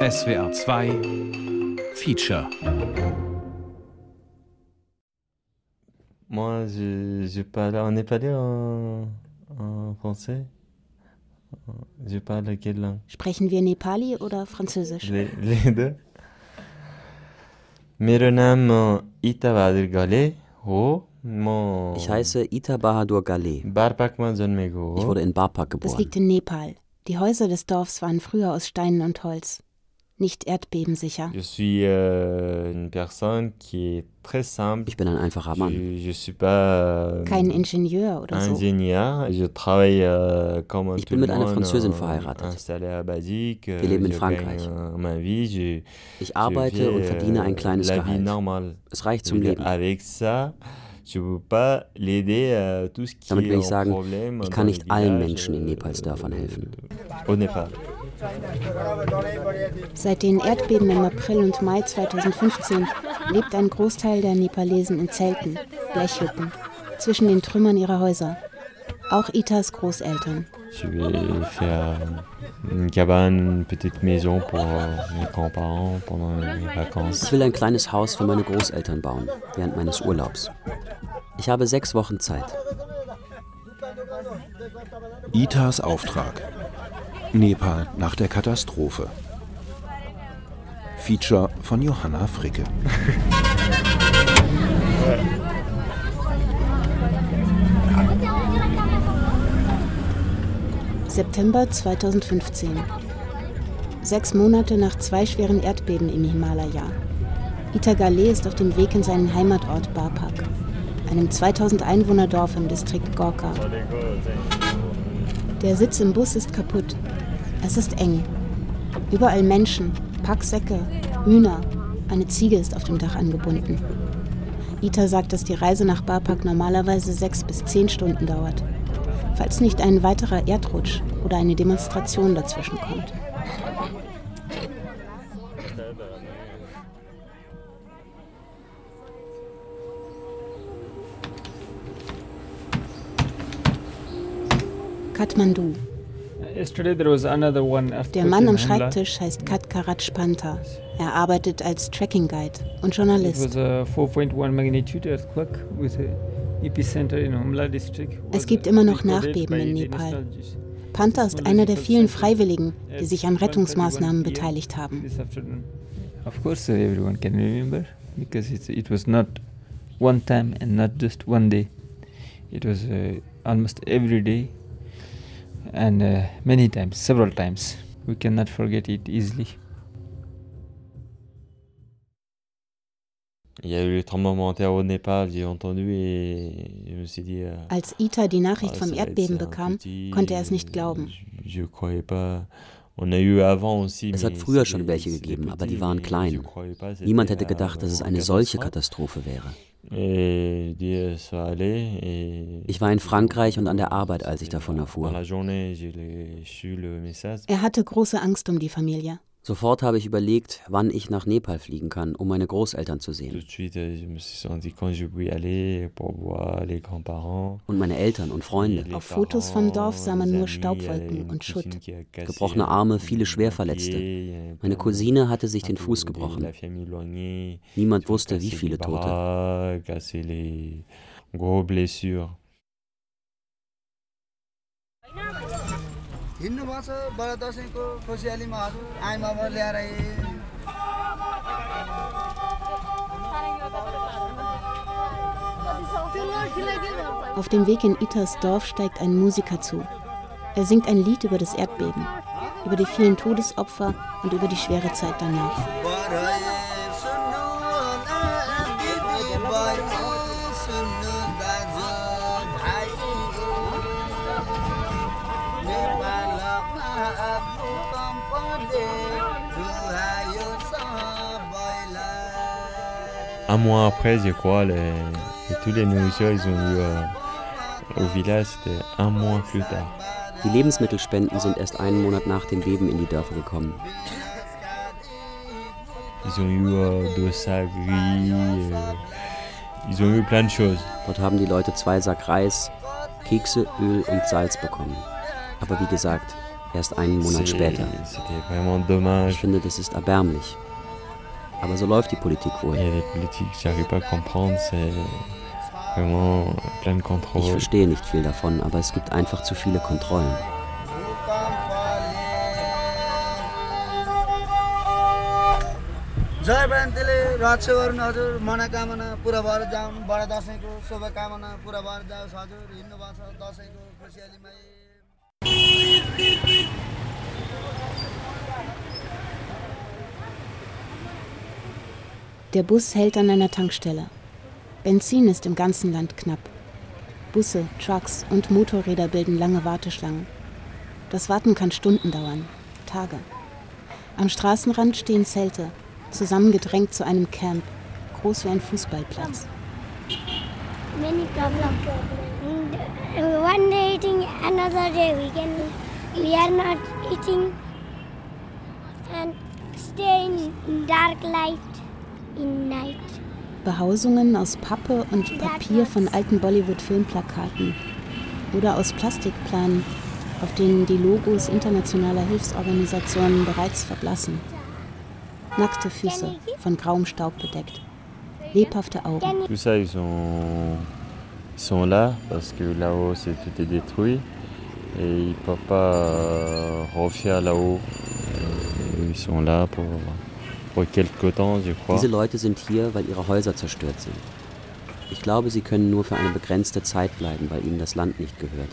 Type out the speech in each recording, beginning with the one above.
SWR 2 Feature. Moi, je parle en népalais, en français. Je parle quelle langue? Sprechen wir Nepali oder Französisch? Les deux. मेरो नाम ईता बहादुर गले हो. Ich heiße Ita Bahadur Gale. बारपाकमा जन्मेको हो. Ich wurde in Barpak geboren. Das liegt in Nepal. Die Häuser des Dorfs waren früher aus Steinen und Holz. Nicht erdbebensicher. Je suis une personne qui est très simple. Ich bin ein einfacher Mann. Je suis pas Kein Ingenieur oder so. ingénieur. Je travaille comme Ich bin mit einer Französin verheiratet. Wir leben in Frankreich. Ich arbeite und verdiene ein kleines Gehalt. Es reicht zum Leben. Damit will ich sagen, ich kann nicht allen Menschen in Nepals Dörfern helfen. Seit den Erdbeben im April und Mai 2015 lebt ein Großteil der Nepalesen in Zelten, Blechhütten, zwischen den Trümmern ihrer Häuser. Auch Itas Großeltern. Ich will faire une cabane, une petite maison pour mes grands-parents pendant les vacances. Ich will ein kleines Haus für meine Großeltern bauen, während meines Urlaubs. Ich habe 6 Wochen Zeit. Itas Auftrag. Nepal nach der Katastrophe. Feature von Johanna Fricke. September 2015. 6 Monate nach 2 schweren Erdbeben im Himalaya. Ita Gale ist auf dem Weg in seinen Heimatort Barpak, einem 2000 Einwohner-Dorf im Distrikt Gorka. Der Sitz im Bus ist kaputt. Es ist eng. Überall Menschen, Packsäcke, Hühner. Eine Ziege ist auf dem Dach angebunden. Ita sagt, dass die Reise nach Barpak normalerweise 6 bis 10 Stunden dauert, falls nicht ein weiterer Erdrutsch oder eine Demonstration dazwischen kommt. Kathmandu. Der Mann am Schreibtisch heißt Katkarat Spanta. Er arbeitet als Tracking Guide und Journalist. Es gibt immer noch Nachbeben in Nepal. Panta ist einer der vielen Freiwilligen, die sich an Rettungsmaßnahmen beteiligt haben. Of course, everyone can remember, because it was not one time and not just one day. It was almost every day and many times, several times. We cannot forget it easily. Als Ita die Nachricht vom Erdbeben bekam, konnte er es nicht glauben. Es hat früher schon welche gegeben, aber die waren klein. Niemand hätte gedacht, dass es eine solche Katastrophe wäre. Ich war in Frankreich und an der Arbeit, als ich davon erfuhr. Er hatte große Angst um die Familie. Sofort habe ich überlegt, wann ich nach Nepal fliegen kann, um meine Großeltern zu sehen. Und meine Eltern und Freunde. Auf Fotos vom Dorf sah man nur Staubwolken und Schutt. Gebrochene Arme, viele Schwerverletzte. Meine Cousine hatte sich den Fuß gebrochen. Niemand wusste, wie viele Tote. Auf dem Weg in Itas Dorf steigt ein Musiker zu. Er singt ein Lied über das Erdbeben, über die vielen Todesopfer und über die schwere Zeit danach. Un mois après, je crois, tous les nourritures, ils ont eu au village, c'était un mois plus tard. Die Lebensmittelspenden sind erst einen Monat nach dem Beben in die Dörfer gekommen. Ils ont eu de sacs riz, ils ont eu plein de choses. Dort haben die Leute 2 Sack Reis, Kekse, Öl und Salz bekommen. Aber wie gesagt, erst einen Monat später. Ich finde, das ist erbärmlich. Aber so läuft die Politik wohl. Ich verstehe nicht viel davon, aber es gibt einfach zu viele Kontrollen. Der Bus hält an einer Tankstelle. Benzin ist im ganzen Land knapp. Busse, Trucks und Motorräder bilden lange Warteschlangen. Das Warten kann Stunden dauern, Tage. Am Straßenrand stehen Zelte, zusammengedrängt zu einem Camp, groß wie ein Fußballplatz. Many problems. One day eating, another day we are not eating and stay in dark light in night. Behausungen aus Pappe und Papier von alten Bollywood-Filmplakaten oder aus Plastikplanen, auf denen die Logos internationaler Hilfsorganisationen bereits verblassen. Nackte Füße, von grauem Staub bedeckt. Lebhafte Augen. Tout ça, ils sont là parce que là-haut, tout est détruit et ils ne peuvent pas refaire là-haut. Ils sont là pour quelque temps, je crois. Diese Leute sind hier, weil ihre Häuser zerstört sind. Ich glaube, sie können nur für eine begrenzte Zeit bleiben, weil ihnen das Land nicht gehört.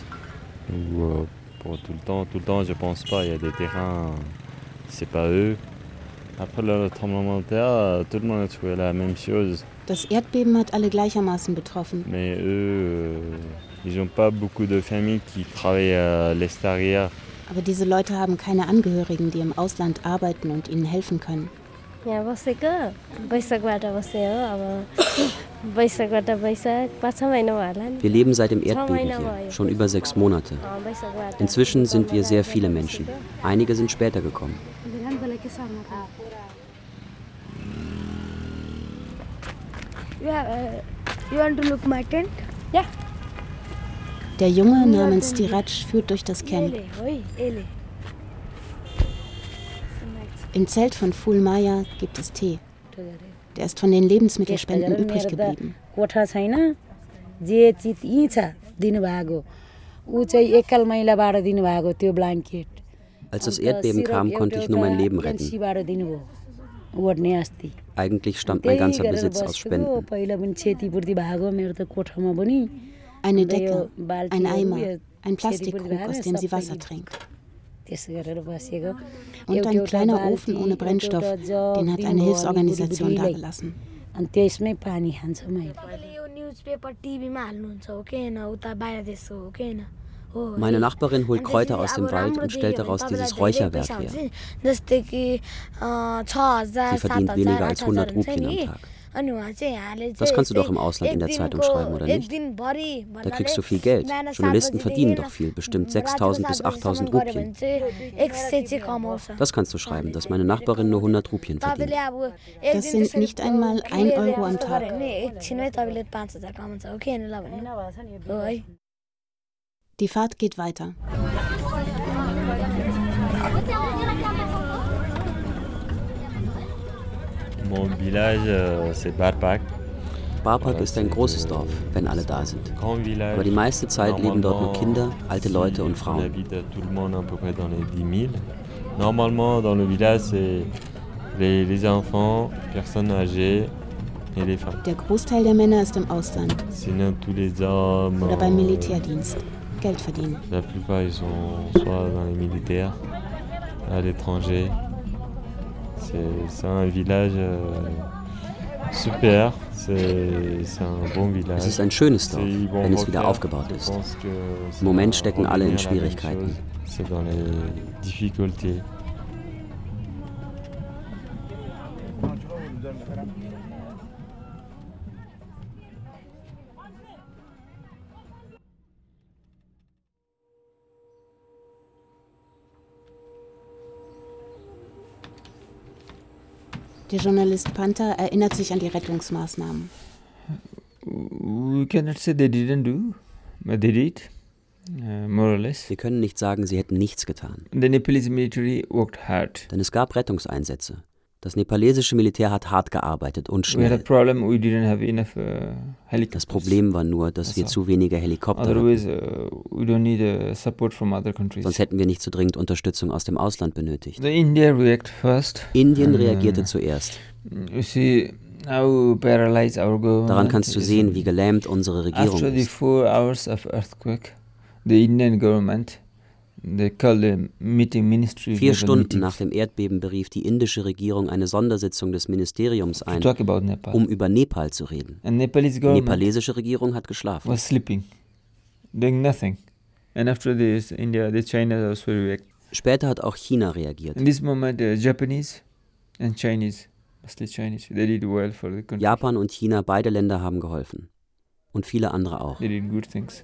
Pour tout le temps, je pense pas. Il y a des terrains, c'est pas eux. Après le tremblement de terre, tout le monde a trouvé la même chose. Das Erdbeben hat alle gleichermaßen betroffen. Mais eux, ils n'ont pas beaucoup de familles qui travaillent à l'extérieur. Aber diese Leute haben keine Angehörigen, die im Ausland arbeiten und ihnen helfen können. यहाँ बसेको वैशाखबाट बसे हो अब वैशाखबाट वैशाख 5-6 महिना भयो होला नि. Wir leben seit dem Erdbeben hier, schon über 6 Monate. Inzwischen sind wir sehr viele Menschen. Einige sind später gekommen. You want to look my tent? Ja. Der Junge namens Diraj führt durch das Camp. Im Zelt von Phul Maya gibt es Tee. Der ist von den Lebensmittelspenden übrig geblieben. Als das Erdbeben kam, konnte ich nur mein Leben retten. Eigentlich stammt mein ganzer Besitz aus Spenden. Eine Decke, ein Eimer, ein Plastikkrug, aus dem sie Wasser trinkt. Und ein kleiner Ofen ohne Brennstoff, den hat eine Hilfsorganisation dagelassen. Meine Nachbarin holt Kräuter aus dem Wald und stellt daraus dieses Räucherwerk her. Sie verdient weniger als 100 Rupien am Tag. Das kannst du doch im Ausland in der Zeitung schreiben, oder nicht? Da kriegst du viel Geld. Journalisten verdienen doch viel, bestimmt 6.000 bis 8.000 Rupien. Das kannst du schreiben, dass meine Nachbarin nur 100 Rupien verdient. Das sind nicht einmal 1 Euro am Tag. Die Fahrt geht weiter. Mon village, c'est Barpak. Barpak ist ein großes Dorf, wenn alle da sind. Aber die meiste Zeit leben dort nur Kinder, alte Leute und Frauen. Normalement, dans le village, c'est les enfants, personnes âgées et les femmes. Der Großteil der Männer ist im Ausland. Sinon, tous les hommes. Oder beim Militärdienst. Geld verdienen. La plupart, ils sont soit dans les militaires, à l'étranger. C'est un village super, c'est un bon village. Es ist ein schönes Dorf, wenn es wieder aufgebaut ist. Im Moment stecken alle in Schwierigkeiten. C'est dans les difficultés. Der Journalist Panther erinnert sich an die Rettungsmaßnahmen. We cannot say they didn't do, but they did. more or less. Wir können nicht sagen, sie hätten nichts getan. The Nepalese military worked hard. Denn es gab Rettungseinsätze. Das nepalesische Militär hat hart gearbeitet und We had a schnell. problem, we didn't have enough helicopters. Das Problem war nur, dass wir zu wenige Helikopter hatten. Otherwise, we don't need support from other countries. Sonst hätten wir nicht so dringend Unterstützung aus dem Ausland benötigt. The India react first. Indien reagierte zuerst. You see how paralyzed our government. Daran kannst du is. sehen, wie gelähmt unsere Regierung After the ist. 4 hours of earthquake, the Indian government, they called the meeting ministry. 4 Stunden nach dem Erdbeben berief die indische Regierung eine Sondersitzung des Ministeriums ein, talk about Nepal. um über Nepal zu reden. And Nepalese Die government nepalesische Regierung hat geschlafen. was sleeping, doing nothing. And after this, India, the China also react. Später hat auch China reagiert. In this moment, the Japanese and Chinese, mostly Chinese, they did well for the country. Japan und China, beide Länder haben geholfen. Und viele andere auch. They did good things.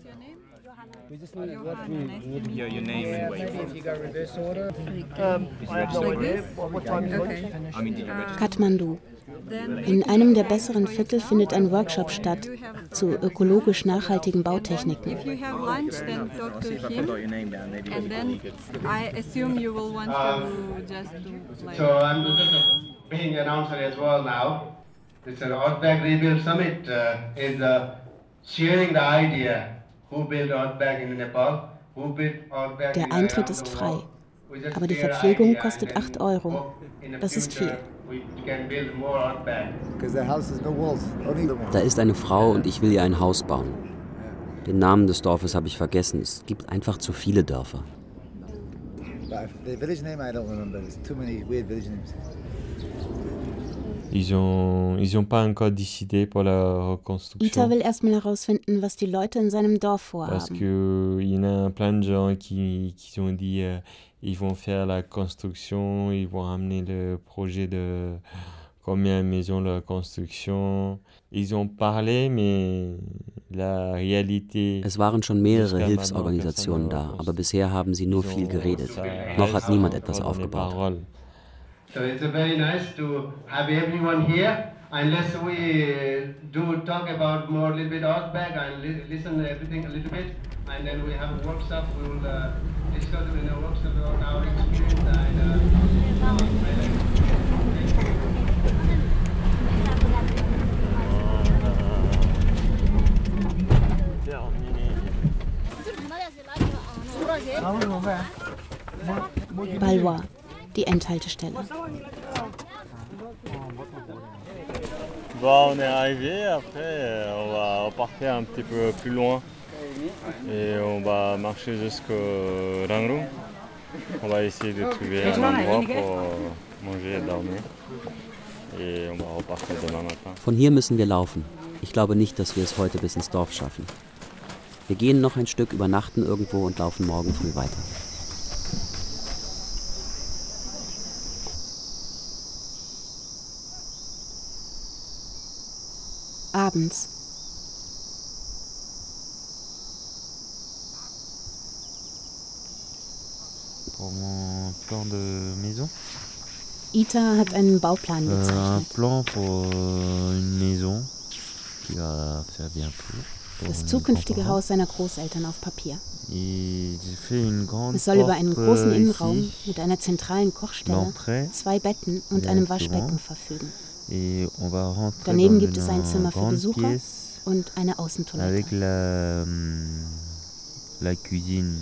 Kathmandu. In einem der besseren Viertel findet ein Workshop statt zu ökologisch nachhaltigen Bautechniken. If you have lunch, then talk to him, and then I assume you will want to just do like. So I'm being announcer as well now. This Outback Rebuild Summit is sharing the idea. Who built Outback in Nepal? Who built Outback Der in Eintritt around ist the frei, world? We just aber die share Verpflegung idea kostet and 8 then Euro. hope in the Das ist future viel. We can build more Outback. Because the house has no walls, only the walls. Da ist eine Frau und ich will ihr ein Haus bauen. Den Namen des Dorfes habe ich vergessen. Es gibt einfach zu viele Dörfer. But the village name I don't remember. There's too many weird village names. Ils ont pas encore décidé pour la reconstruction. Ita will erstmal herausfinden, was die Leute in seinem Dorf Parce vorhaben. que il y en a plein de gens qui ont dit ils vont faire la construction, ils vont amener le projet de combien de maisons de construction. Ils ont parlé, mais la réalité. Es waren schon mehrere Hilfsorganisationen da, aber bisher haben sie nur viel geredet. Noch hat niemand etwas aufgebaut. So it's very nice to have everyone here. Unless we do talk about more a little bit Outback and listen to everything a little bit, and then we have a workshop. We will discuss in a workshop about our experience Balwa, die Endhaltestelle. Bon, on est arrivé, après on va repartir un petit peu plus loin et on va marcher jusqu'au Rangrung. On va essayer de trouver un endroit pour manger et dormir et on va repartir demain matin. Von hier müssen wir laufen. Ich glaube nicht, dass wir es heute bis ins Dorf schaffen. Wir gehen noch ein Stück, übernachten irgendwo und laufen morgen früh weiter. Abends. Pour mon plan de maison. Ita hat einen Bauplan Un gezeichnet. plan pour une maison qui va faire bientôt. Das zukünftige Haus seiner Großeltern auf Papier. Es Es soll über einen großen Innenraum mit einer zentralen Kochstelle, 2 Betten und einem Waschbecken verfügen. Daneben gibt es ein Zimmer für Besucher und eine Außentoilette. Avec la cuisine.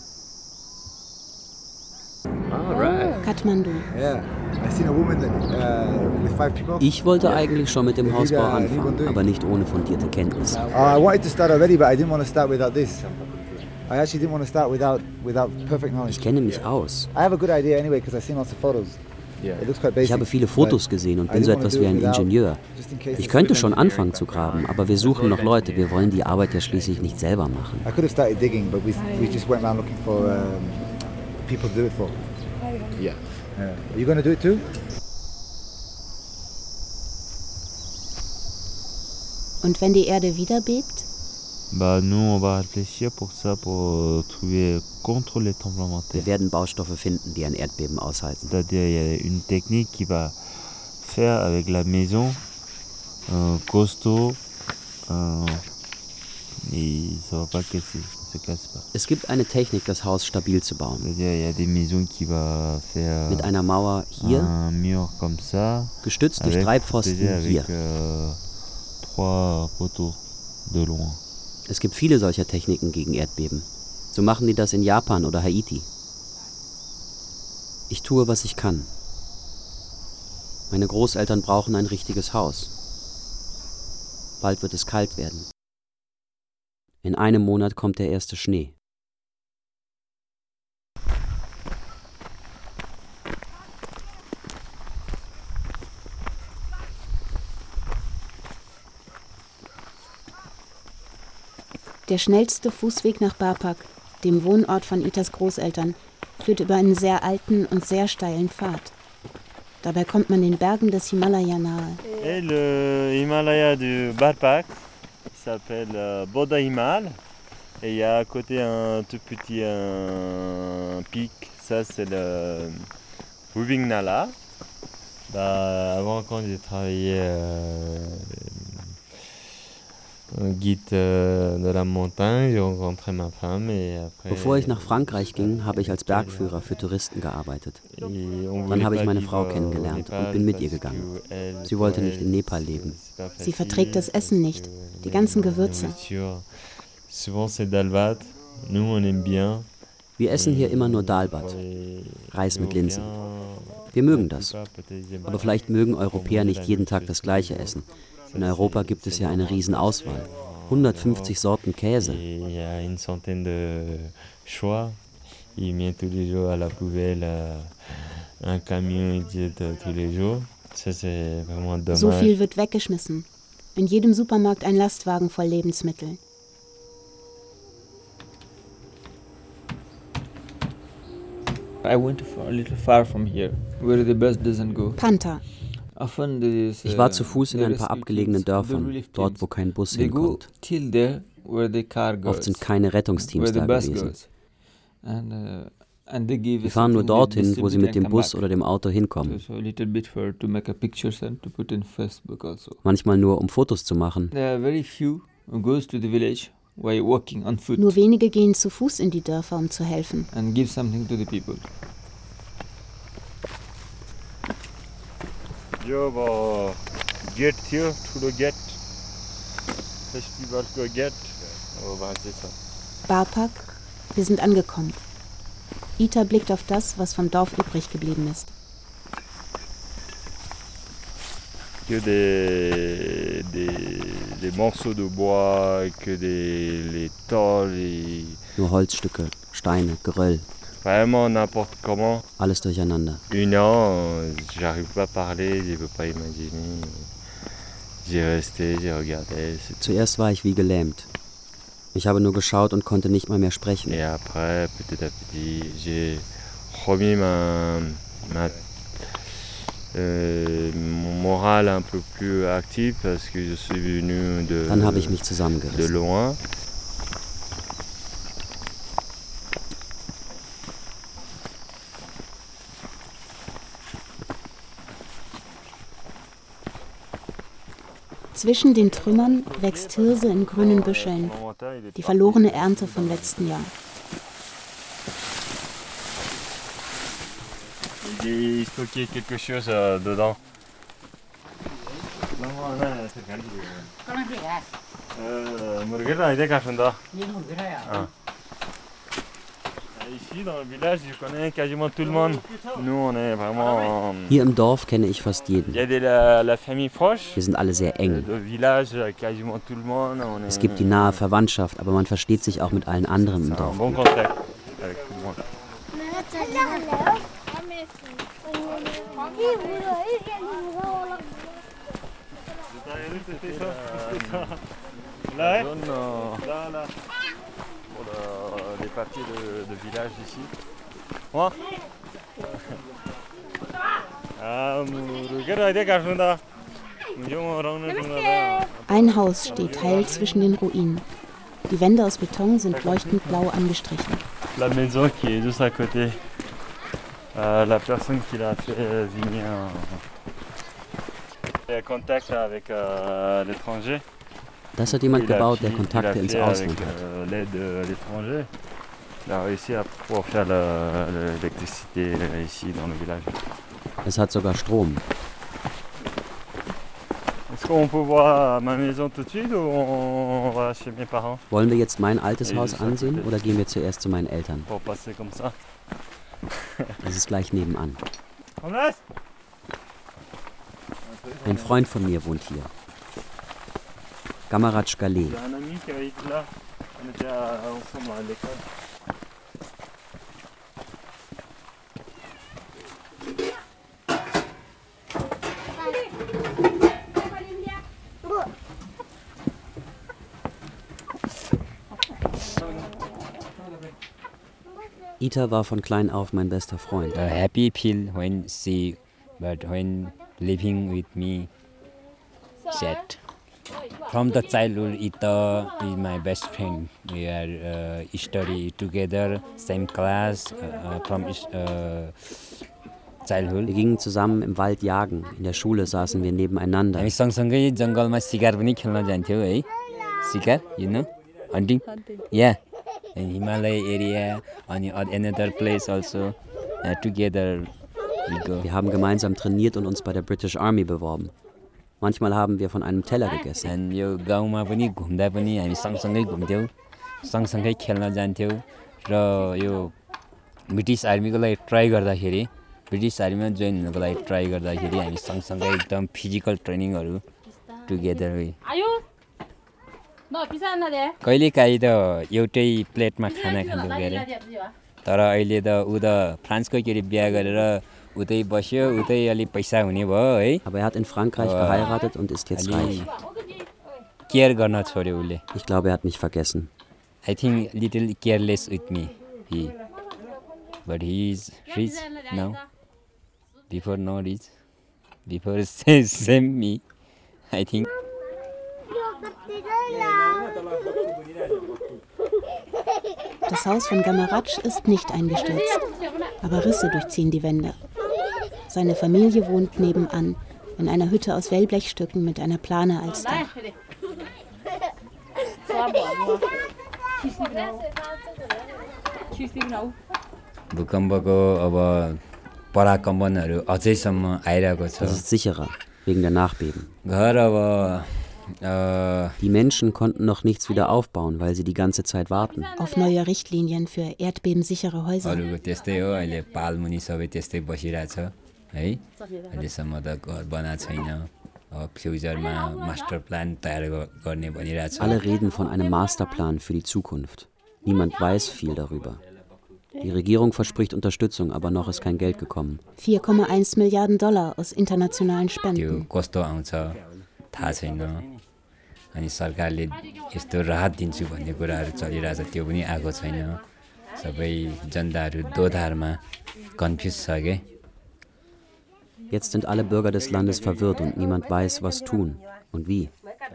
Kathmandu. Yeah, I seen a woman with 5 people. Ich wollte eigentlich schon mit dem Hausbau anfangen, aber nicht ohne fundierte Kenntnisse. I wanted to start already, but I didn't want to start without this. I actually didn't want to start without perfect knowledge. Ich kenne mich aus. I have a good idea anyway because I've seen lots of photos. It looks quite basic. Ich habe viele Fotos gesehen und bin so etwas wie ein Ingenieur. Ich könnte schon anfangen zu graben, aber wir suchen noch Leute. Wir wollen die Arbeit ja schließlich nicht selber machen. I could have started digging, but we just went around looking for people to do it for. Yeah. Are you going to do it too? Und wenn die Erde wieder bebt? Nous, on va réfléchir pour ça, pour trouver contre les tremblements de terre. Wir werden Baustoffe finden, die ein Erdbeben aushalten. C'est-à-dire, il y a une technique qui va faire avec la maison costaud et ça va pas casser. Es gibt eine Technik, das Haus stabil zu bauen. Mit einer Mauer hier, gestützt durch 3 Pfosten hier. Es gibt viele solcher Techniken gegen Erdbeben. So machen die das in Japan oder Haiti. Ich tue, was ich kann. Meine Großeltern brauchen ein richtiges Haus. Bald wird es kalt werden. In einem Monat kommt der erste Schnee. Der schnellste Fußweg nach Bapak, dem Wohnort von Itas Großeltern, führt über einen sehr alten und sehr steilen Pfad. Dabei kommt man den Bergen des Himalaya nahe. Le Himalaya du Bapak s'appelle Bodha Himal. Et il y a à côté un tout petit pic, ça c'est le Hubing Nala. Avant quand j'ai travaillé Bevor ich nach Frankreich ging, habe ich als Bergführer für Touristen gearbeitet. Dann habe ich meine Frau kennengelernt und bin mit ihr gegangen. Sie wollte nicht in Nepal leben. Sie verträgt das Essen nicht, die ganzen Gewürze. Wir essen hier immer nur Dalbat, Reis mit Linsen. Wir mögen das. Aber vielleicht mögen Europäer nicht jeden Tag das Gleiche essen. In Europa gibt es ja eine Riesenauswahl. 150 Sorten Käse. So viel wird weggeschmissen. In jedem Supermarkt ein Lastwagen voll Lebensmittel. I went a little far from here, where the bus doesn't go. Panta. Ich war zu Fuß in ein paar abgelegenen Dörfern, dort wo kein Bus hinkommt. Oft sind keine Rettungsteams da gewesen. Wir fahren nur dorthin, wo sie mit dem Bus oder dem Auto hinkommen. Manchmal nur, um Fotos zu machen. Nur wenige gehen zu Fuß in die Dörfer, um zu helfen. Get here to the get festival to get. Bapak, wir sind angekommen. Ita blickt auf das, was vom Dorf übrig geblieben ist. Que des morceaux de bois, que les tôles. Nur Holzstücke, Steine, Geröll. Vraiment n'importe comment. Alles durcheinander. J'arrive pas à parler, je peux pas imaginer. J'ai resté, j'ai regardé. Zuerst war ich wie gelähmt. Ich habe nur geschaut und konnte nicht mal mehr sprechen. Et après, petit à petit, j'ai remis mon moral un peu plus actif parce que je suis venu Dann habe ich mich zusammengerissen. De loin. Zwischen den Trümmern wächst Hirse in grünen Büscheln, die verlorene Ernte vom letzten Jahr. Il stockait quelque chose dedans. Ici dans le village, je connais quasiment tout le monde. Nous, on est vraiment. Hier im Dorf kenne ich fast jeden. Il y a la famille proche. Wir sind alle sehr eng. Le village, quasiment tout le monde. Es gibt die nahe Verwandtschaft, aber man versteht sich auch mit allen anderen im Dorf. Bon contact avec tout le monde. Là, là. Pour les papiers de village ici. Moi Ein Haus steht heil zwischen den Ruinen. Die Wände aus Beton sind leuchtend blau angestrichen. La maison qui est juste à côté. La personne qui l'a fait venir en contact avec l'étranger. Das hat jemand gebaut, der Kontakte ins Ausland hat. Es hat sogar Strom. Wollen wir jetzt mein altes Haus ansehen oder gehen wir zuerst zu meinen Eltern? Es ist gleich nebenan. Ein Freund von mir wohnt hier. Gamaraj Galeh. Ita war von klein auf mein bester Freund. Happy feel when she, but when living with me, sad. From the childhood, Ita is my best friend. We are study together, same class, from childhood. Wir gingen zusammen im Wald jagen. In der Schule saßen wir nebeneinander. हामी सँगसँगै जङ्गलमा शिकार पनि खेल्न जान्थ्यौ है. शिकार, you know, hunting. Yeah. In Himalaya area, on another place also, together we go. Wir haben gemeinsam trainiert und uns bei der British Army beworben. Manchmal haben wir von einem Teller gegessen. And यो गाउँमा पनि घुम्दा पनि हामी सँगसँगै घुम्थ्यौँ, सँगसँगै खेल्न जान्थ्यौँ र यो ब्रिटिश आर्मीको लागि ट्राई गर्दाखेरि, ब्रिटिश आर्मीमा जोइन हुनको लागि ट्राई गर्दाखेरि हामी सँगसँगै एकदम फिजिकल ट्रेनिङहरू टुगेदर वे. कहिलेकाहीँ त एउटै प्लेटमा खाना खाँदो गरे तर अहिले त ऊ त फ्रान्सको केरी बिहा गरेर उतै बस्यो उतै अलि पैसा हुने भयो है. Aber er hat in Frankreich geheiratet und ist jetzt reich. Care गर्न छोड्यो उसले. Ich glaube, er hat mich vergessen. I think little careless with me he. But he is rich now. Before not rich. Before same me. I think. Das Haus von Gamaraj ist nicht eingestürzt, aber Risse durchziehen die Wände. Seine Familie wohnt nebenan, in einer Hütte aus Wellblechstücken mit einer Plane als Dach. Das ist sicherer, wegen der Nachbeben. Die Menschen konnten noch nichts wieder aufbauen, weil sie die ganze Zeit warten. Auf neue Richtlinien für erdbebensichere Häuser. Alle reden von einem Masterplan für die Zukunft. Niemand weiß viel darüber. Die Regierung verspricht Unterstützung, aber noch ist kein Geld gekommen. 4,1 Milliarden $4,1 aus internationalen Spenden. अनि सरकारले यस्तो राहत दिन्छु भन्ने कुराहरू चलिरहेछ त्यो पनि आएको छैन. सबै जनताहरू दोधारमा कन्फ्युज छ के. Jetzt sind alle Bürger des Landes verwirrt und niemand weiß, was tun und wie.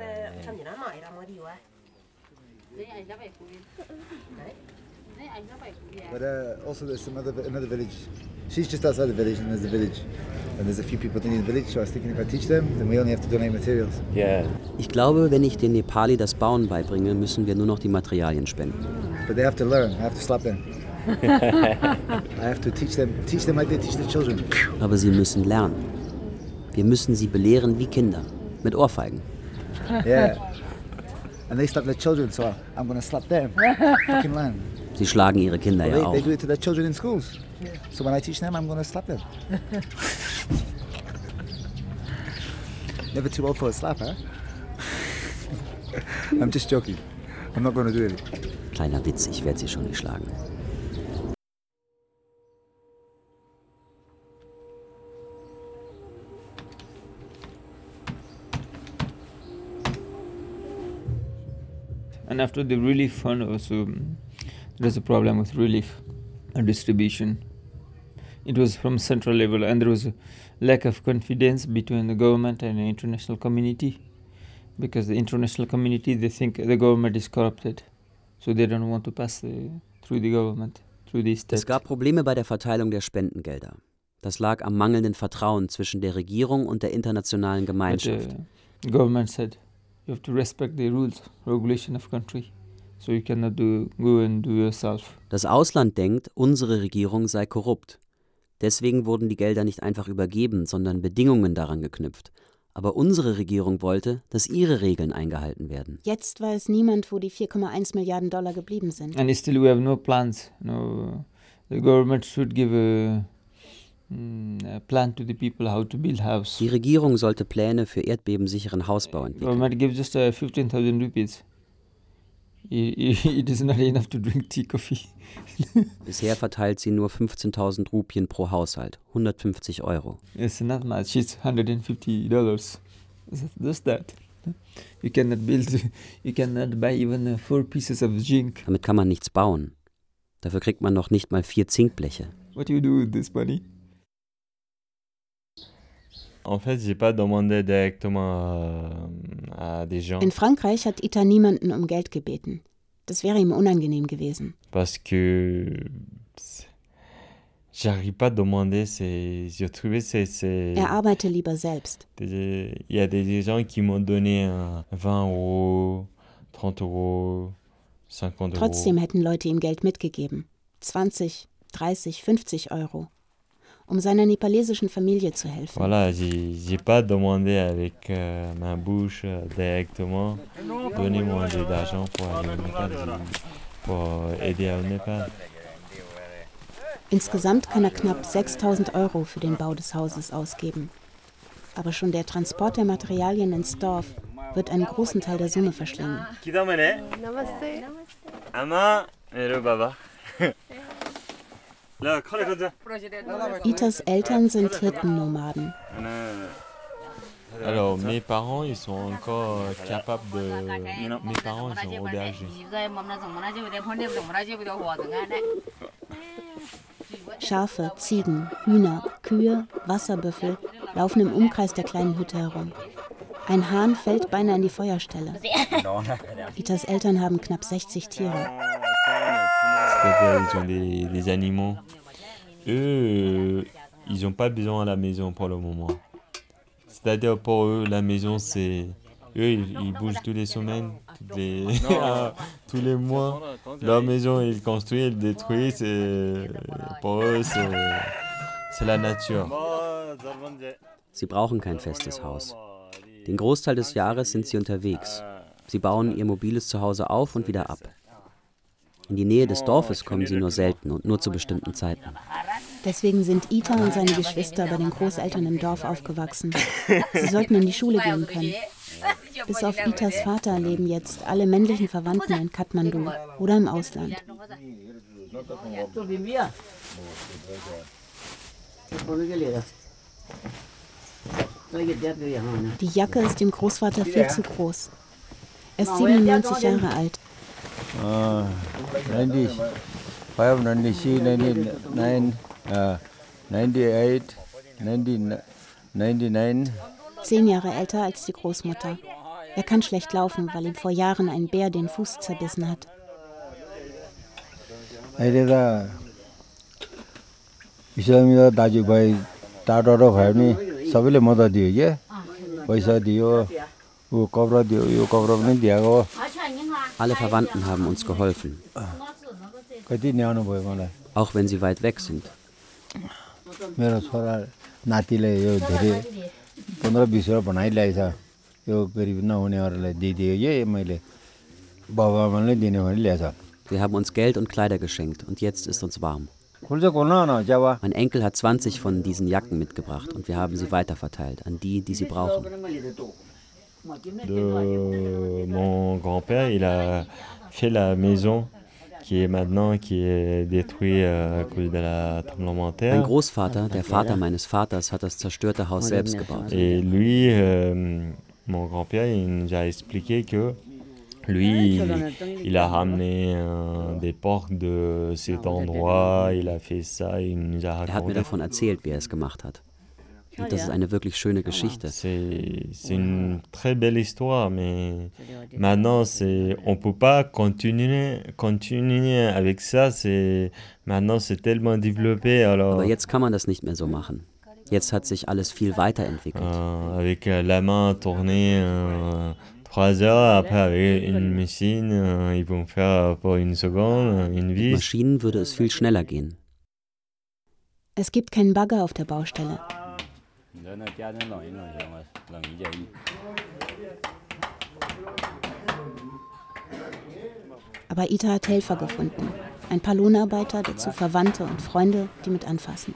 But also there's another village. She's just outside the village and there's the village. And there's a few people in the village, so I was thinking if I teach them, then we only have to donate materials. Yeah. Ich glaube, wenn ich den Nepali das Bauen beibringe, müssen wir nur noch die Materialien spenden. But they have to learn. I have to slap them. I have to teach them like they teach the children. Aber sie müssen lernen. Wir müssen sie belehren wie Kinder, mit Ohrfeigen. Yeah. And they slap their children, so I'm going to slap them. Fucking learn. Sie schlagen ihre Kinder ja auch. They do it to their children in schools. So when I teach them, I'm going to slap them. Never too old for a slap, huh? I'm just joking. I'm not going to do it. Kleiner Witz, ich werde sie schon nicht schlagen. And after the relief fund also, there's a problem with relief and distribution. It was from central level and there was a lack of confidence between the government and the international community, because the international community, they think the government is corrupted, so they don't want to pass through the government, through the state. Es gab Probleme bei der Verteilung der Spendengelder. Das lag am mangelnden Vertrauen zwischen der Regierung und der internationalen Gemeinschaft. But, government said, You have to respect the rules, regulation of country. So you cannot go and do yourself. Das Ausland denkt, unsere Regierung sei korrupt. Deswegen wurden die Gelder nicht einfach übergeben, sondern Bedingungen daran geknüpft. Aber unsere Regierung wollte, dass ihre Regeln eingehalten werden. Jetzt weiß niemand, wo die 4,1 Milliarden Dollar geblieben sind. And still we have no plans. No, the government should give a plan to the people how to build house. Die Regierung sollte Pläne für erdbebensicheren Hausbau entwickeln. Government gives just 15,000 rupees. It is not enough to drink tea, coffee. Bisher verteilt sie nur 15.000 Rupien pro Haushalt, 150 €. It's not much, it's $150. Just that. You cannot buy even 4 pieces of zinc. Damit kann man nichts bauen. Dafür kriegt man noch nicht mal 4 Zinkbleche. What do you do with this money? En fait, j'ai pas demandé directement à des gens. In Frankreich hat Ita niemanden um Geld gebeten. Das wäre ihm unangenehm gewesen. Parce que j'arrive pas à demander, je trouvais c'est. Arbeite lieber selbst. Il y a des gens qui m'ont donné 20 €, 30 €, 50 €. Trotzdem hätten Leute ihm Geld mitgegeben. 20, 30, 50 €. Um seiner nepalesischen Familie zu helfen. Voilà, j'ai pas demandé avec ma bouche directement. Donnez-moi d'argent pour aller au Nepal, pour aider au Nepal. Insgesamt kann er knapp 6.000 € für den Bau des Hauses ausgeben. Aber schon der Transport der Materialien ins Dorf wird einen großen Teil der Summe verschlingen. Namaste. Ama, hello Baba. Itas Eltern sind Hirtennomaden. Alors, mes parents, ils sont encore capables de. Mes parents, ils sont aubergers. Schafe, Ziegen, Hühner, Kühe, Wasserbüffel laufen im Umkreis der kleinen Hütte herum. Ein Hahn fällt beinahe in die Feuerstelle. Itas Eltern haben knapp 60 Tiere. Ils ont des animaux. Eux, ils n'ont pas besoin de la maison pour le moment. C'est-à-dire pour eux, la maison, c'est... Eux, ils bougent toutes les semaines, tous les mois. Leur maison, ils construisent, ils détruisent. Pour eux, c'est la nature. Sie brauchen kein festes Haus. Den Großteil des Jahres sind sie unterwegs. Sie bauen ihr mobiles Zuhause auf und wieder ab. In die Nähe des Dorfes kommen sie nur selten und nur zu bestimmten Zeiten. Deswegen sind Ita und seine Geschwister bei den Großeltern im Dorf aufgewachsen. Sie sollten in die Schule gehen können. Bis auf Itas Vater leben jetzt alle männlichen Verwandten in Kathmandu oder im Ausland. Die Jacke ist dem Großvater viel zu groß. Er ist 97 Jahre alt. 95, 96, 99, 98, 99. 10 Jahre älter als die Großmutter. Er kann schlecht laufen, weil ihm vor Jahren ein Bär den Fuß zerbissen hat. Alle Verwandten haben uns geholfen, auch wenn sie weit weg sind. Wir haben uns Geld und Kleider geschenkt und jetzt ist uns warm. Mein Enkel hat 20 von diesen Jacken mitgebracht und wir haben sie weiterverteilt an die, die sie brauchen. Mon grand-père, il a fait la maison qui est détruite à cause de la tremblement de terre. Mein Großvater, der Vater meines Vaters, hat das zerstörte Haus selbst gebaut. Et lui, mon grand-père, il nous a expliqué que lui, il a ramené des portes de cet endroit, il a fait ça, il nous a raconté. Er hat mir davon erzählt, wie er es gemacht hat. Und das ist eine wirklich schöne Geschichte. C'est une très belle histoire, mais maintenant on peut pas continuer avec ça. Maintenant c'est tellement développé. Alors. Aber jetzt kann man das nicht mehr so machen. Jetzt hat sich alles viel weiterentwickelt. Avec la main tournée 3 heures après avec une machine, ils vont faire pour une seconde, une vis. Mit Maschinen würde es viel schneller gehen. Es gibt keinen Bagger auf der Baustelle. Aber Ita hat Helfer gefunden. Ein paar Lohnarbeiter, dazu Verwandte und Freunde, die mit anfassen.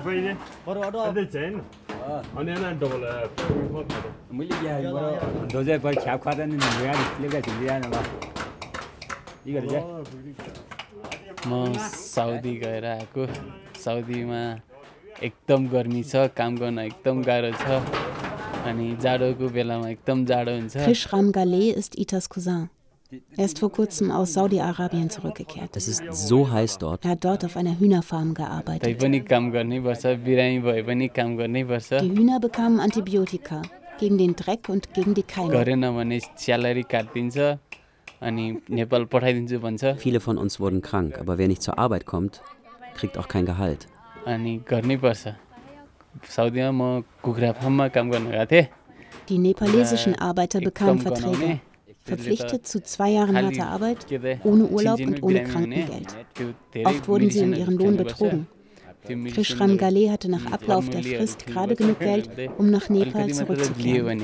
म साउदी गएर आएको साउदीमा एकदम गर्मी छ काम गर्न एकदम गाह्रो छ अनि जाडोको बेलामा एकदम जाडो हुन्छ Hishram Galeh ist Itas Cousin. Er ist vor kurzem aus Saudi-Arabien zurückgekehrt. Es ist so heiß dort. Er hat dort auf einer Hühnerfarm gearbeitet. तै पनि काम गर्नैपर्छ बिरामी भए पनि काम गर्नैपर्छ Die Hühner bekamen Antibiotika gegen den Dreck und gegen die Keime. गरेन भने स्यालेरी काट्दिन्छ अनि नेपाल पठाइदिन्छु भन्छ Viele von uns wurden krank, aber wer nicht zur Arbeit kommt, kriegt auch kein Gehalt. अनि गर्नैपर्छ साउदीमा म कुखुरा फार्ममा काम गर्न गएको थिएँ Die nepalesischen Arbeiter bekamen Verträge. Verpflichtet zu 2 Jahren harter Arbeit, ohne Urlaub und ohne Krankengeld. Oft wurden sie um ihren Lohn betrogen. Hishram Galeh hatte nach Ablauf der Frist gerade genug Geld, um nach Nepal zurückzukehren.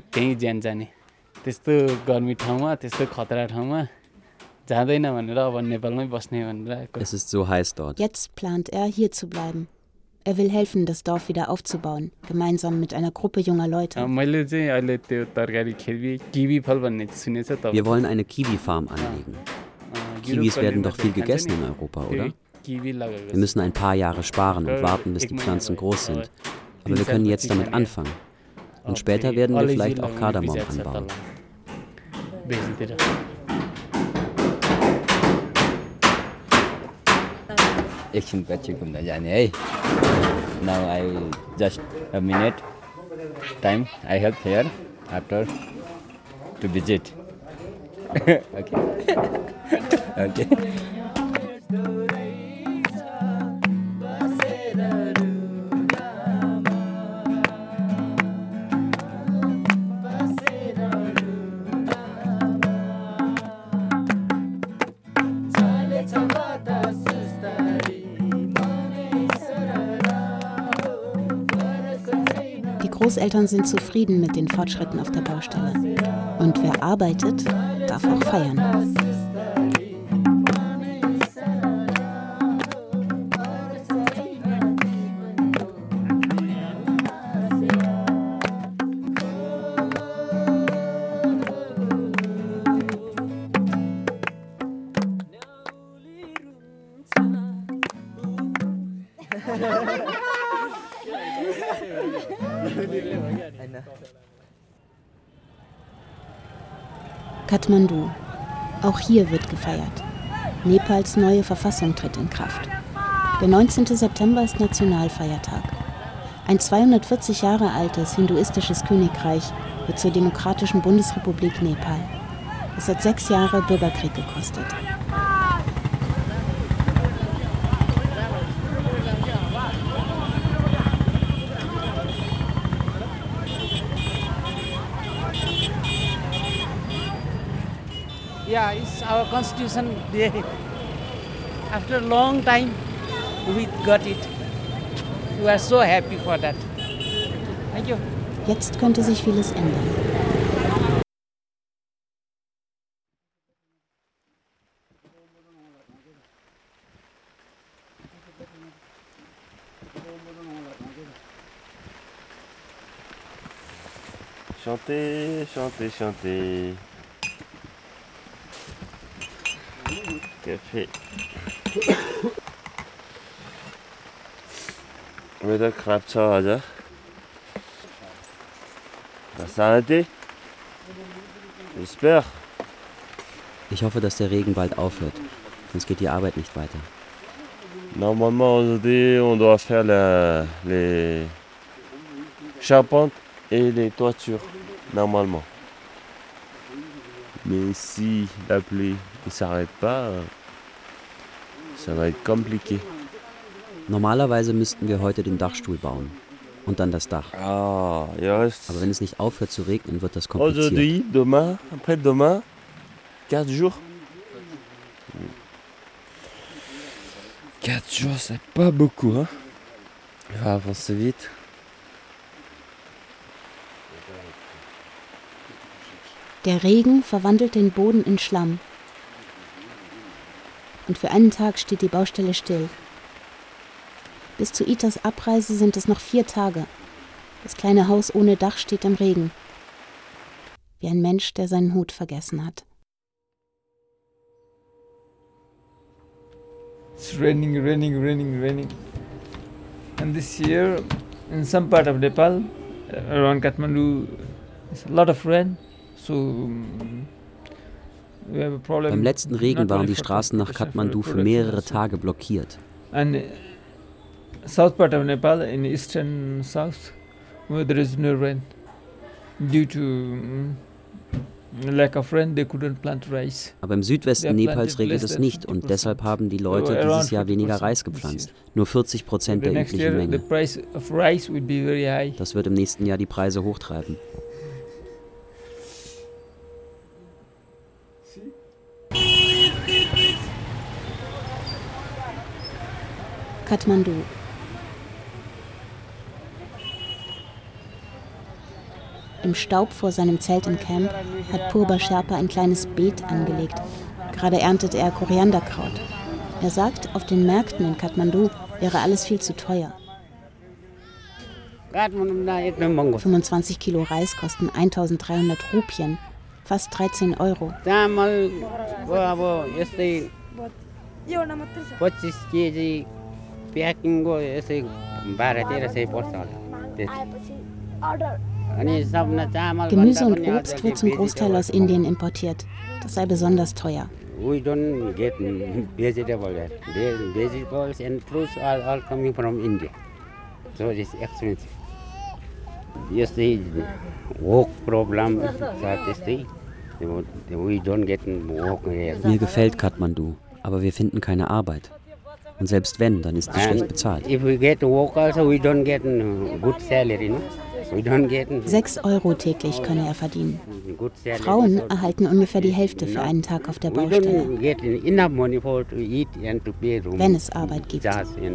Es ist so heiß dort. Jetzt plant er, hier zu bleiben. Er will helfen, das Dorf wieder aufzubauen, gemeinsam mit einer Gruppe junger Leute. Wir wollen eine Kiwi-Farm anlegen. Kiwis werden doch viel gegessen in Europa, oder? Wir müssen ein paar Jahre sparen und warten, bis die Pflanzen groß sind. Aber wir können jetzt damit anfangen. Und später werden wir vielleicht auch Kardamom anbauen. एकछिन पछि घुम्न जाने है now I just a minute time I help here after two visit okay okay Großeltern sind zufrieden mit den Fortschritten auf der Baustelle. Und wer arbeitet, darf auch feiern. Kathmandu. Auch hier wird gefeiert. Nepals neue Verfassung tritt in Kraft. Der 19. September ist Nationalfeiertag. Ein 240 Jahre altes hinduistisches Königreich wird zur Demokratischen Bundesrepublik Nepal. Es hat 6 Jahre Bürgerkrieg gekostet. Yeah, it's our constitution day. After a long time, we got it. We are so happy for that. Thank you. Jetzt könnte sich vieles ändern. Chantez, chantez, chantez. Café. Wetter knapp zu Hause. Das arrêté? J'espère. Ich hoffe, dass der Regen bald aufhört, sonst geht die Arbeit nicht weiter. Normalement aujourd'hui on doit faire les charpentes et les toitures, normalement. Mais si la pluie ne s'arrête pas, ça va être compliqué. Normalerweise müssten wir heute den Dachstuhl bauen. Und dann das Dach. Ah, yes. Aber wenn es nicht aufhört zu regnen, wird das kompliziert. Aujourd'hui, demain, après-demain, 4 jours. 4 jours, c'est pas beaucoup, hein. Il va avancer vite. Der Regen verwandelt den Boden in Schlamm. Und für einen Tag steht die Baustelle still. Bis zu Itas Abreise sind es noch 4 Tage. Das kleine Haus ohne Dach steht im Regen. Wie ein Mensch, der seinen Hut vergessen hat. It's raining. And this year, in some part of Nepal, around Kathmandu, it's a lot of rain. So we have a problem. Beim letzten Regen waren die Straßen nach Kathmandu für mehrere Tage blockiert. And south part of Nepal, in eastern south, where there is no rain, due to lack of rain, they couldn't plant rice. Aber im Südwesten Nepals regnet es nicht und deshalb haben die Leute dieses Jahr weniger Reis gepflanzt. Nur 40% der üblichen Menge. Das wird im nächsten Jahr die Preise hochtreiben. Kathmandu. Im Staub vor seinem Zelt im Camp hat Purba Sherpa ein kleines Beet angelegt. Gerade erntet er Korianderkraut. Er sagt, auf den Märkten in Kathmandu wäre alles viel zu teuer. 25 Kilo Reis kosten 1300 Rupien, fast 13 Euro. 25 kg packing go यसै 12-13 पर्छ होला. Gemüse und Obst wird zum Großteil aus Indien importiert. Das sei besonders teuer. We don't get vegetable there. The vegetables and fruits are all coming from India. So it is expensive. Yes, the work problem is we don't get work here. Mir gefällt Kathmandu, aber wir finden keine Arbeit. Und selbst wenn, dann ist sie schlecht bezahlt. If we get work also, we don't get good salary, no? 6 Euro täglich könne er verdienen. Frauen erhalten ungefähr die Hälfte für einen Tag auf der Baustelle. Wenn es Arbeit gibt.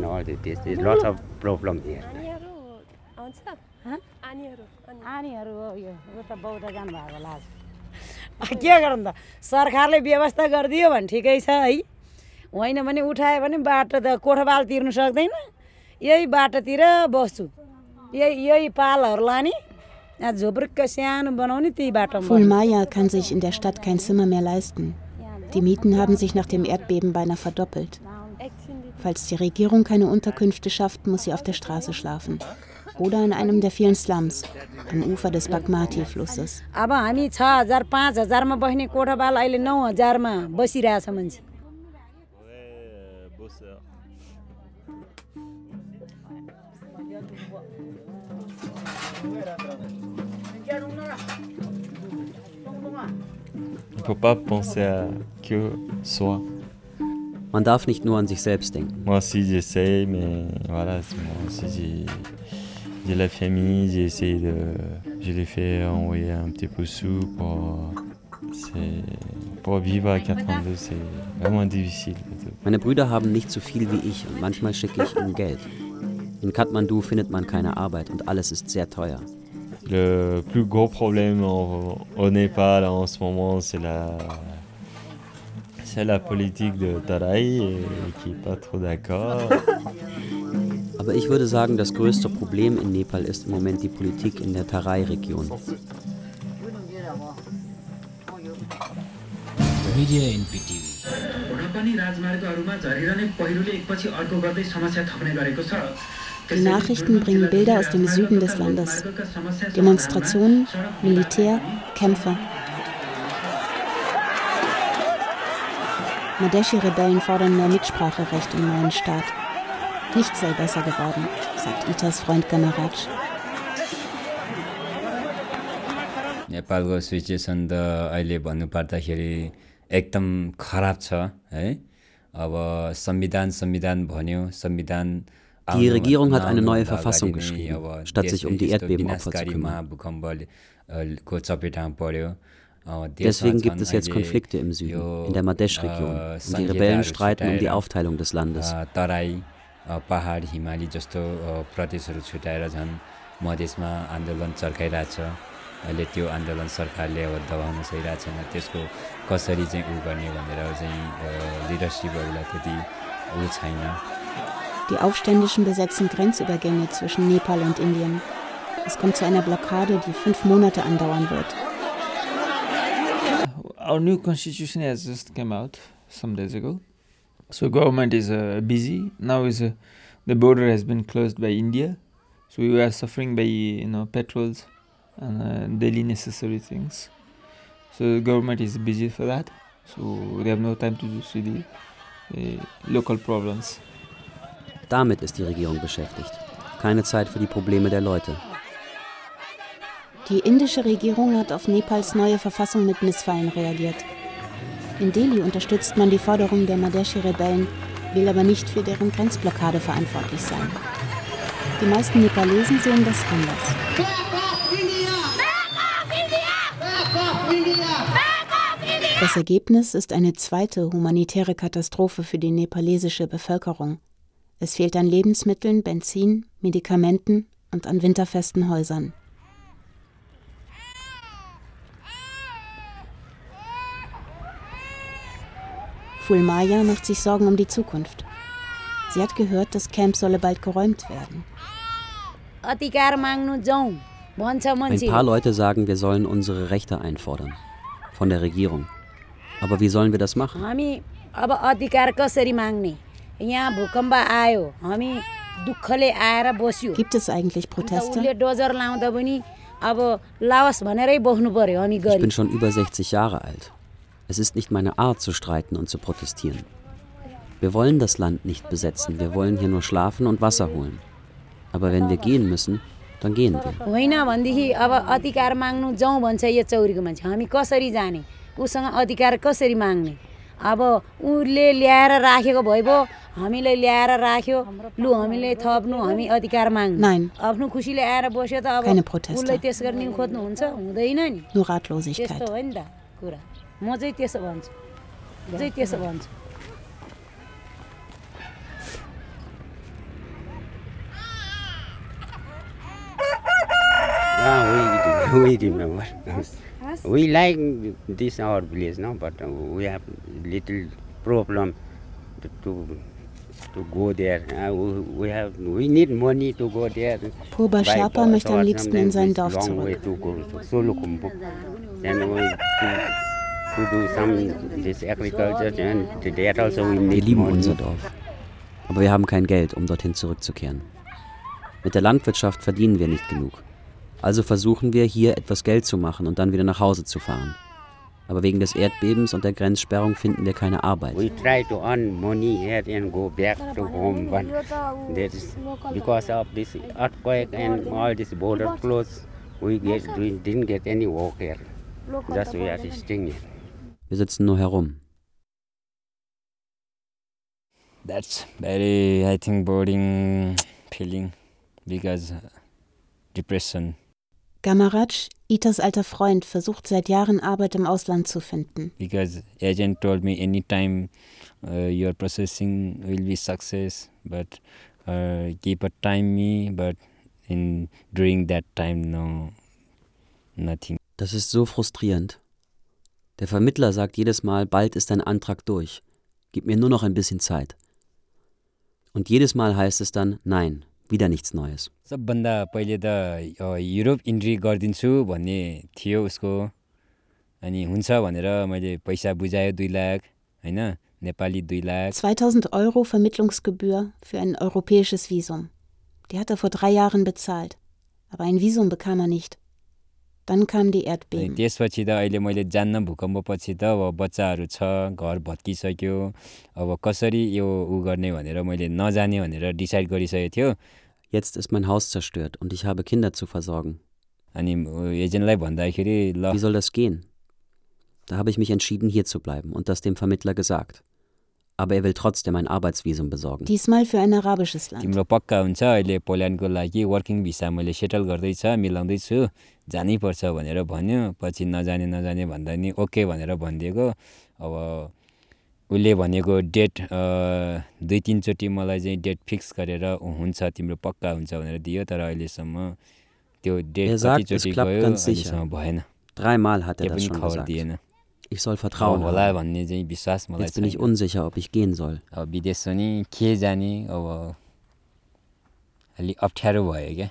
के गर्नु त सरकारले व्यवस्था गरिदियो भने ठिकै छ है होइन भने उठायो भने बाटो त कोठबाल तिर्नु सक्दैन यही बाटोतिर बस्छु यही पालहरु लानी झोपडीको सानो बनाउने त्यही बाटोमा Fulmaya kann sich in der Stadt kein Zimmer mehr leisten. Die Mieten haben sich nach dem Erdbeben beinahe verdoppelt. Falls die Regierung keine Unterkünfte schafft, muss sie auf der Straße schlafen. Oder in einem der vielen Slums am Ufer des Bagmati-Flusses. अब हामी 6000 5000 मा बस्ने कोठाबाल अहिले 9000 मा बसिरहेछ मान्छे. On peut pas penser à que soi. Man darf nicht nur an sich selbst denken. Moi aussi j'essaie, mais voilà, moi aussi j'ai la famille, j'ai essayé je l'ai fait envoyer un petit peu sous pour vivre à Kathmandu, c'est vraiment difficile. Meine Brüder haben nicht so viel wie ich und manchmal schicke ich ihnen Geld. In Kathmandu findet man keine Arbeit und alles ist sehr teuer. Le plus gros problème au Népal en ce moment, c'est la politique de Tarai qui est pas trop d'accord. Aber ich würde sagen, das größte Problem in Nepal ist im Moment die Politik in der Tarai-Region. Media in PTV. Die Nachrichten bringen Bilder aus dem Süden des Landes. Demonstrationen, Militär, Kämpfe. Madhesi-Rebellen fordern mehr Mitspracherecht im neuen Staat. Nichts sei besser geworden, sagt Itas Freund Gamaraj. नेपालको सिचुएसन त अहिले भन्नुपर्दाखेरि एकदम खराब छ है अब संविधान भन्यो संविधान Die Regierung hat eine neue Verfassung geschrieben, statt sich um die Erdbebenopfer zu kümmern. Deswegen gibt es jetzt Konflikte im Süden, in der Madhesh-Region, und die Rebellen streiten um die Aufteilung des Landes. अहिले त्यो आन्दोलन सरकारले अब दबाउन सकिरहेको छैन त्यसको कसरी चाहिँ उ गर्ने भनेर चाहिँ लिडरशिपहरुलाई त्यति उ छैन. Die Aufständischen besetzen Grenzübergänge zwischen Nepal und Indien. Es kommt zu einer Blockade, die 5 Monate andauern wird. Our new constitution has just come out some days ago. So government is busy. Now the border has been closed by India. So we are suffering by petrols and daily necessary things. So the government is busy for that. So they have no time to see the local problems. Damit ist die Regierung beschäftigt. Keine Zeit für die Probleme der Leute. Die indische Regierung hat auf Nepals neue Verfassung mit Missfallen reagiert. In Delhi unterstützt man die Forderungen der Madheshi-Rebellen, will aber nicht für deren Grenzblockade verantwortlich sein. Die meisten Nepalesen sehen das anders. Das Ergebnis ist eine zweite humanitäre Katastrophe für die nepalesische Bevölkerung. Es fehlt an Lebensmitteln, Benzin, Medikamenten und an winterfesten Häusern. Fulmaya macht sich Sorgen um die Zukunft. Sie hat gehört, das Camp solle bald geräumt werden. Ein paar Leute sagen, wir sollen unsere Rechte einfordern. Von der Regierung. Aber wie sollen wir das machen? Gibt es eigentlich Proteste? Ich bin schon über 60 Jahre alt. Es ist nicht meine Art zu streiten und zu protestieren. Wir wollen das Land nicht besetzen, wir wollen hier nur schlafen und Wasser holen. Aber wenn wir gehen müssen, dann gehen wir. Nein, keine Proteste. Nur Ratlosigkeit. We remember. We like this our village now, but we have little problem to go there. We need money to go there. Purba Sherpa möchte am liebsten in sein Dorf zurück. Wir lieben unser Dorf. Aber wir haben kein Geld, um dorthin zurückzukehren. Mit der Landwirtschaft verdienen wir nicht genug. Also versuchen wir, hier etwas Geld zu machen und dann wieder nach Hause zu fahren. Aber wegen des Erdbebens und der Grenzsperrung finden wir keine Arbeit. We try to earn money here and go back to home, but that is because of this earthquake and all this border closed, we didn't get any work here. Just we are staying here. Wir sitzen nur herum. That's very, I think, boring feeling because depression. Gamaraj, Itas alter Freund, versucht seit Jahren Arbeit im Ausland zu finden. Because agent told me anytime your processing will be success, but keep a time me, but during that time no nothing. Das ist so frustrierend. Der Vermittler sagt jedes Mal, bald ist dein Antrag durch. Gib mir nur noch ein bisschen Zeit. Und jedes Mal heißt es dann, nein, wieder nichts Neues. सबभन्दा पहिले त Europe entry गरिदिन्छु भन्ने थियो उसको अनि हुन्छ भनेर मैले पैसा बुझायो 2 लाख हैन नेपाली 2 लाख 2000 € Vermittlungsgebühr für ein europäisches Visum. Die hat er vor 3 Jahren bezahlt. Aber ein Visum bekam er nicht. Dann kam die Erdbeben. त्यसपछि त अहिले मैले जान्न भूकम्पपछि त अब बच्चाहरु छ घर भत्किसक्यो अब कसरी यो उ गर्ने भनेर मैले नजाने भनेर डिसाइड गरिसकेको थियो. Jetzt ist mein Haus zerstört und ich habe Kinder zu versorgen. अनि एजेन्टलाई भन्दाखेरि ल Wie soll das gehen? Da habe ich mich entschieden, hier zu bleiben und das dem Vermittler gesagt. Aber er will trotzdem ein Arbeitsvisum besorgen. Diesmal für ein arabisches Land. तिम्रो पक्का हुन्छ अहिले पोल्यान्डको लागि वर्किङ भिसा मैले सेटल गर्दैछ मिलाउँदैछु जानै पर्छ भनेर भन्यो पछि नजाने भन्दा नि ओके भनेर भनिदिएको अब उसले भनेको डेट 2-3 चोटि मलाई चाहिँ डेट फिक्स गरेर हुन्छ तिम्रो पक्का हुन्छ भनेर दियो तर अहिलेसम्म त्यो डेट कति चोटि गयो अहिलेसम्म भएन 3 Mal hat er das schon gesagt. Ich soll Vertrauen haben. Jetzt bin ich unsicher, ob ich gehen soll. विदेश पनि के जाने अब अलि अप्ठ्यारो भयो क्या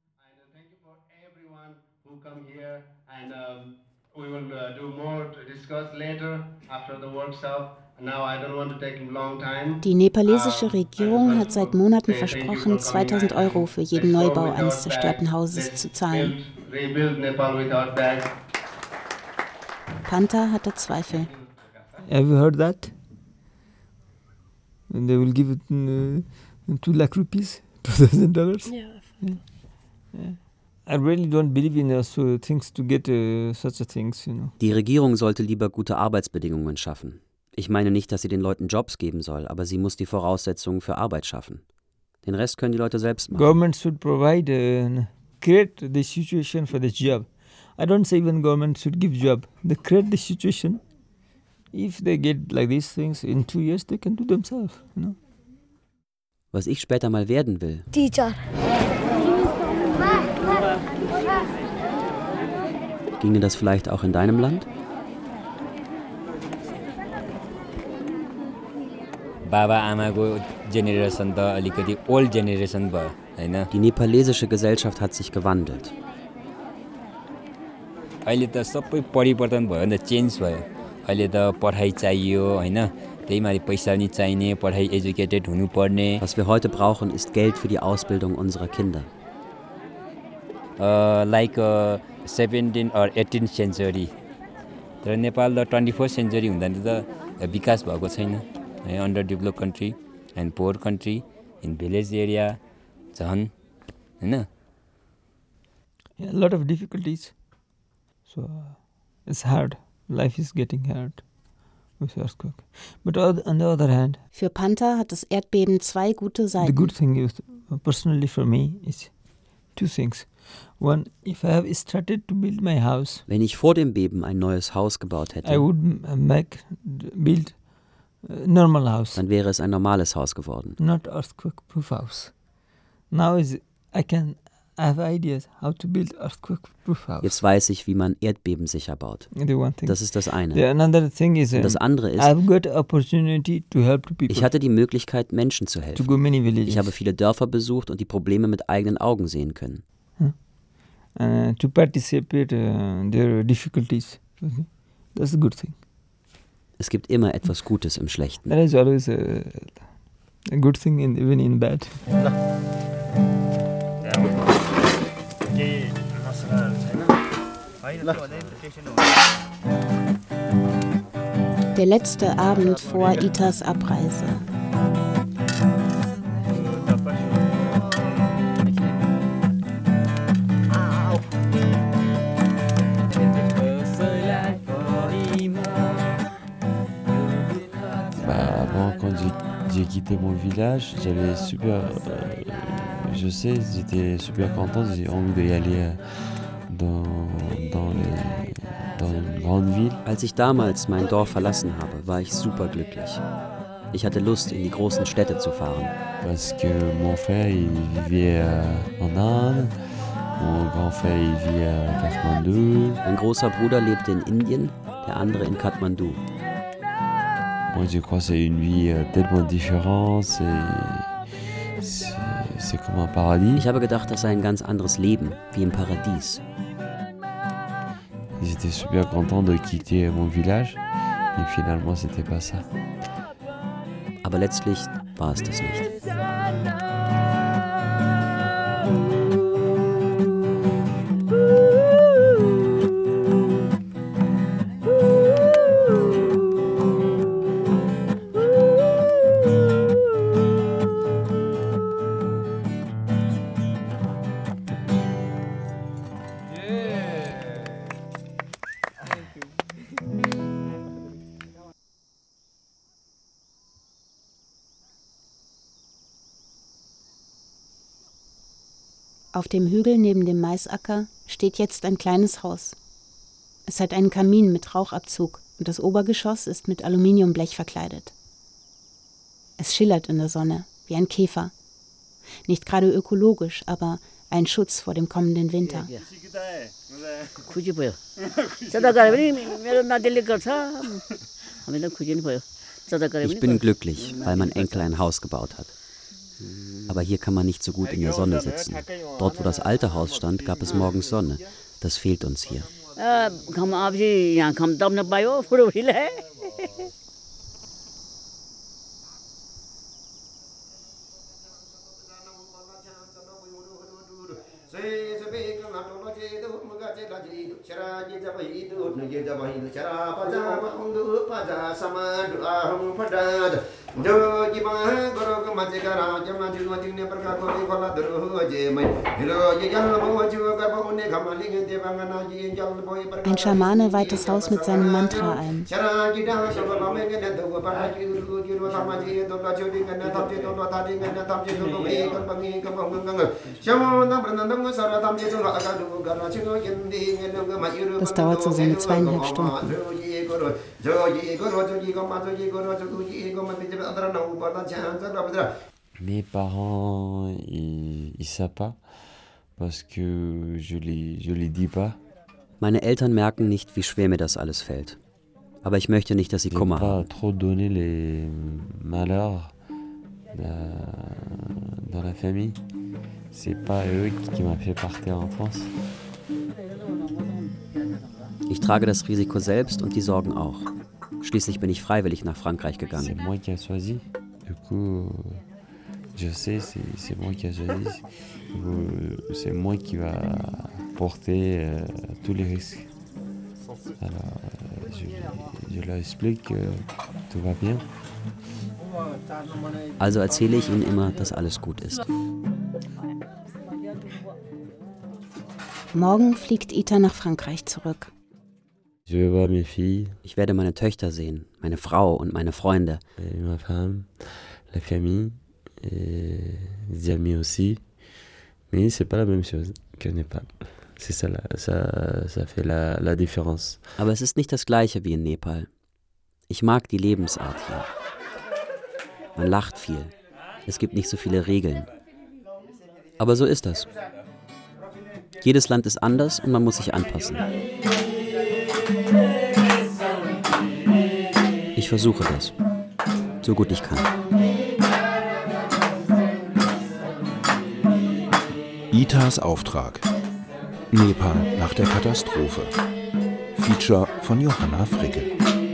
We will do more to discuss later after the workshop. Now I don't want to take long time. Die nepalesische Regierung hat seit Monaten versprochen, 2.000 € für jeden Neubau eines zerstörten Hauses zu zahlen. Panta hatte Zweifel. Have you heard that? And they will give it 2 lakh rupees, $2,000. Yeah. I really don't believe in so things to get such a things, you know. Die Regierung sollte lieber gute Arbeitsbedingungen schaffen. Ich meine nicht, dass sie den Leuten Jobs geben soll, aber sie muss die Voraussetzungen für Arbeit schaffen. Den Rest können die Leute selbst machen. Government should provide, create the situation for the job. I don't say even government should give job. They create the situation. If they get like these things, in 2 years they can do themselves, you know. Was ich später mal werden will. Teacher. Ginge das vielleicht auch in deinem Land? बाबा आमाको जेनेरेसन त अलिकति old generation भयो हैन Die nepalesische Gesellschaft hat sich gewandelt. अहिले त सबै परिवर्तन भयो नि त चेन्ज भयो अहिले त पढाइ चाहियो हैन त्यहीमाथि पैसा नि चाहिने पढाइ एजुकेटेड हुनुपर्ने Was wir heute brauchen ist Geld für die Ausbildung unserer Kinder. Like 17 or 18th century तर नेपाल त 21st century हुँदा त विकास भएको छैन under develop country and pour कन्ट्री इन भिलेज एरिया झन् हैन A lot of difficulties. So it's hard. Life is getting hard with earthquake. But on the other hand, für Panta hat das Erdbeben 2 gute Seiten. The good thing is, personally for me, is 2 things. One, if I have started to build my house, wenn ich vor dem Beben ein neues Haus gebaut hätte, I would build a normal house. Dann wäre es ein normales Haus geworden. Not earthquake-proof house. Now I have ideas how to build earthquake-proof house. Jetzt weiß ich, wie man erdbebensicher baut. Das ist das eine. Another thing is, und das andere ist, I've got opportunity to help people. Ich hatte die Möglichkeit, Menschen zu helfen. To go many villages. Ich habe viele Dörfer besucht und die Probleme mit eigenen Augen sehen können. To participate their difficulties. That's a good thing. Es gibt immer etwas Gutes im Schlechten. That is always a good thing even in bad. Der letzte Abend vor Itas Abreise. Quand j'ai quitté mon village, j'avais super, je sais, j'étais super content, j'ai envie d'y aller dans une grande ville. Als ich damals mein Dorf verlassen habe, war ich super glücklich. Ich hatte Lust, in die großen Städte zu fahren. Parce que mon frère, il vivait en Inde, mon grand frère, il vit à Kathmandu. Mein großer Bruder lebte in Indien, der andere in Kathmandu. Moi, je crois que c'est une vie tellement différente, c'est comme un paradis. Ich habe gedacht, das sei ein ganz anderes Leben, wie im Paradies. J'étais super content de quitter mon village, mais finalement, c'était pas ça. Aber letztlich war es das nicht. Auf dem Hügel neben dem Maisacker steht jetzt ein kleines Haus. Es hat einen Kamin mit Rauchabzug und das Obergeschoss ist mit Aluminiumblech verkleidet. Es schillert in der Sonne, wie ein Käfer. Nicht gerade ökologisch, aber ein Schutz vor dem kommenden Winter. Ich bin glücklich, weil mein Enkel ein Haus gebaut hat. Aber hier kann man nicht so gut in der Sonne sitzen. Dort, wo das alte Haus stand, gab es morgens Sonne. Das fehlt uns hier. Ein Schamane weiht das Haus mit seinem Mantra ein. Das dauert so seine 2,5 Stunden. Mes parents, ils savent pas, parce que je les dis pas. Meine Eltern merken nicht, wie schwer mir das alles fällt. Aber ich möchte nicht, dass sie Kummer haben. Trop donner les malheurs dans la famille. C'est pas eux qui m'ont fait partir en France. Ich trage das Risiko selbst und die Sorgen auch. Schließlich bin ich freiwillig nach Frankreich gegangen. C'est moi qui ai choisi. Du coup, je sais, c'est moi qui ai choisi. C'est moi qui va porter tous les risques. Alors, je leur explique que tout va bien. Also erzähle ich ihnen immer, dass alles gut ist. Morgen fliegt Ita nach Frankreich zurück. Je vais voir mes filles. Ich werde meine Töchter sehen, meine Frau und meine Freunde. Ma femme, la famille, les amis aussi. Mais c'est pas la même chose que Népal. C'est ça, ça fait la différence. Aber es ist nicht das Gleiche wie in Nepal. Ich mag die Lebensart hier. Man lacht viel. Es gibt nicht so viele Regeln. Aber so ist das. Jedes Land ist anders und man muss sich anpassen. Ich versuche das, so gut ich kann. Itas Auftrag. Nepal nach der Katastrophe. Feature von Johanna Fricke.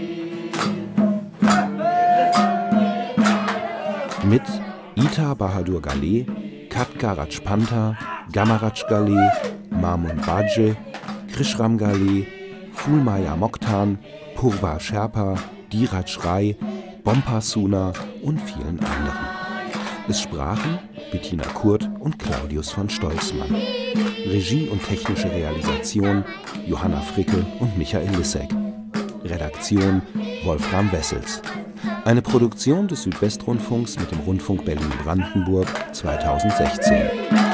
Mit Ita Bahadur Ghale, Katka Rajpanta, Gamaraj Ghale, Mamun Bajje, Krishram Ghale, Fulmaya Mokhtan, Purba Sherpa, Dheeraj Rai, Bompa Suna und vielen anderen. Es sprachen Bettina Kurt und Claudius von Stolzmann. Regie und technische Realisation Johanna Fricke und Michael Lissek. Redaktion Wolfram Wessels. Eine Produktion des Südwestrundfunks mit dem Rundfunk Berlin-Brandenburg 2016.